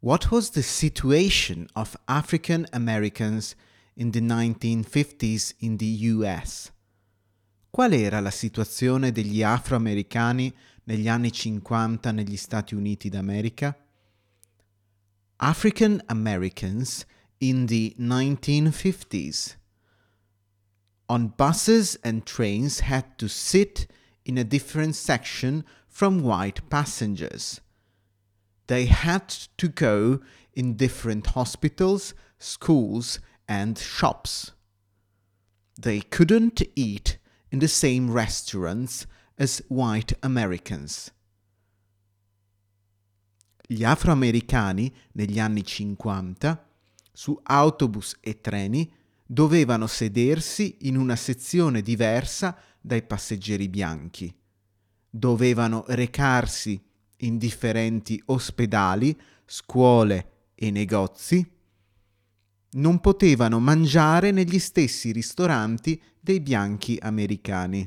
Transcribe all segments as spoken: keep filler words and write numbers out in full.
What was the situation of African Americans in the nineteen fifties in the U S? Qual era la situazione degli afroamericani negli anni cinquanta negli Stati Uniti d'America? African Americans in the nineteen fifties. On buses and trains had to sit in a different section from white passengers. They had to go in different hospitals, schools, and shops. They couldn't eat in the same restaurants as white Americans. Gli afroamericani negli anni cinquanta, su autobus e treni, dovevano sedersi in una sezione diversa dai passeggeri bianchi. Dovevano recarsi in differenti ospedali, scuole e negozi. Non potevano mangiare negli stessi ristoranti dei bianchi americani.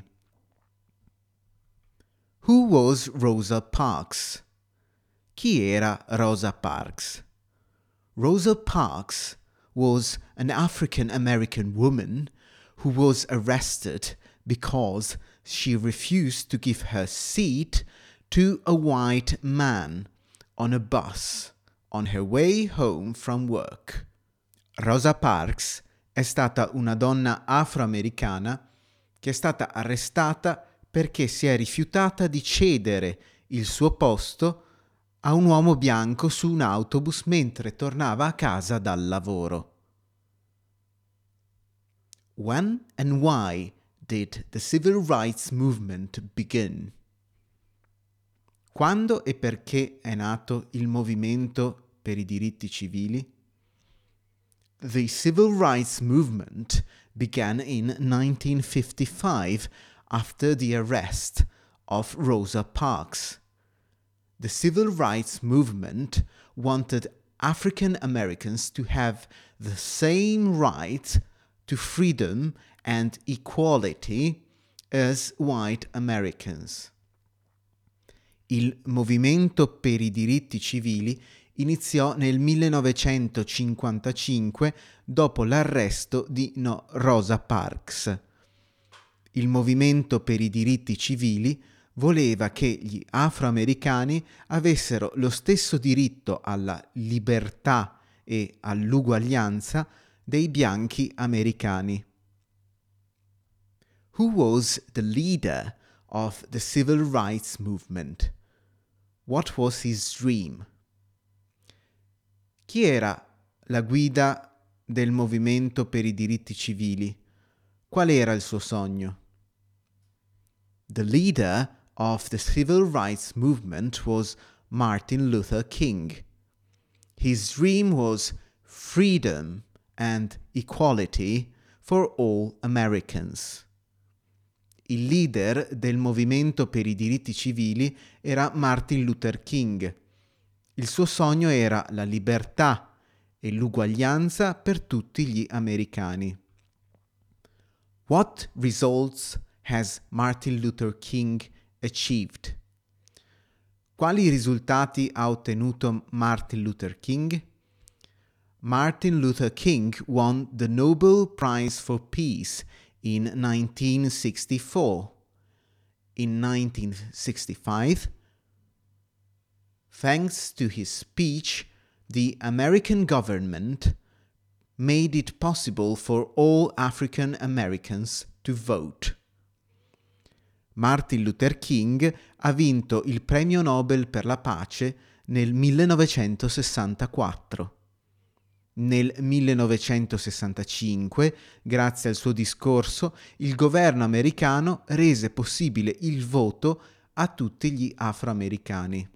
Who was Rosa Parks? Chi era Rosa Parks? Rosa Parks was an African American woman who was arrested because she refused to give her seat to a white man on a bus on her way home from work. Rosa Parks è stata una donna afroamericana che è stata arrestata perché si è rifiutata di cedere il suo posto a un uomo bianco su un autobus mentre tornava a casa dal lavoro. When and why did the civil rights movement begin? Quando e perché è nato il movimento per i diritti civili? The civil rights movement began in nineteen fifty-five after the arrest of Rosa Parks. The civil rights movement wanted African Americans to have the same right to freedom and equality as white Americans. Il movimento per i diritti civili iniziò nel millenovecentocinquantacinque dopo l'arresto di no, Rosa Parks. Il movimento per i diritti civili voleva che gli afroamericani avessero lo stesso diritto alla libertà e all'uguaglianza dei bianchi americani. Who was the leader of the civil rights movement? What was his dream? Chi era la guida del movimento per i diritti civili? Qual era il suo sogno? The leader of the civil rights movement was Martin Luther King. His dream was freedom and equality for all Americans. Il leader del movimento per i diritti civili era Martin Luther King. Il suo sogno era la libertà e l'uguaglianza per tutti gli americani. What results has Martin Luther King achieved? Quali risultati ha ottenuto Martin Luther King? Martin Luther King won the Nobel Prize for Peace in nineteen sixty-four. In nineteen sixty-five, thanks to his speech, the American government made it possible for all African Americans to vote. Martin Luther King ha vinto il premio Nobel per la pace nel millenovecentosessantaquattro. Nel millenovecentosessantacinque, grazie al suo discorso, il governo americano rese possibile il voto a tutti gli afroamericani.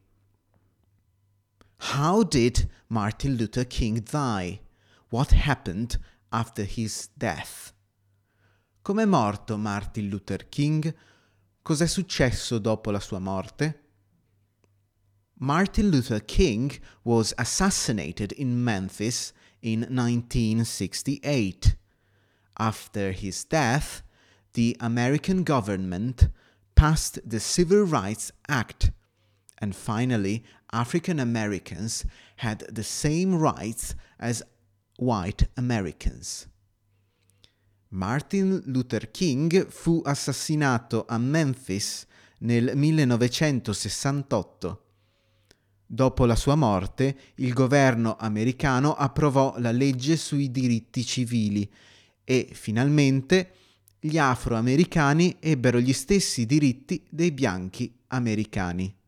How did Martin Luther King die? What happened after his death? Com'è morto Martin Luther King? Cos'è successo dopo la sua morte? Martin Luther King was assassinated in Memphis in nineteen sixty-eight. After his death, the American government passed the Civil Rights Act, And finally, African Americans had the same rights as white Americans. Martin Luther King fu assassinato a Memphis nel millenovecentosessantotto. Dopo la sua morte, il governo americano approvò la legge sui diritti civili e, finalmente, gli afroamericani ebbero gli stessi diritti dei bianchi americani.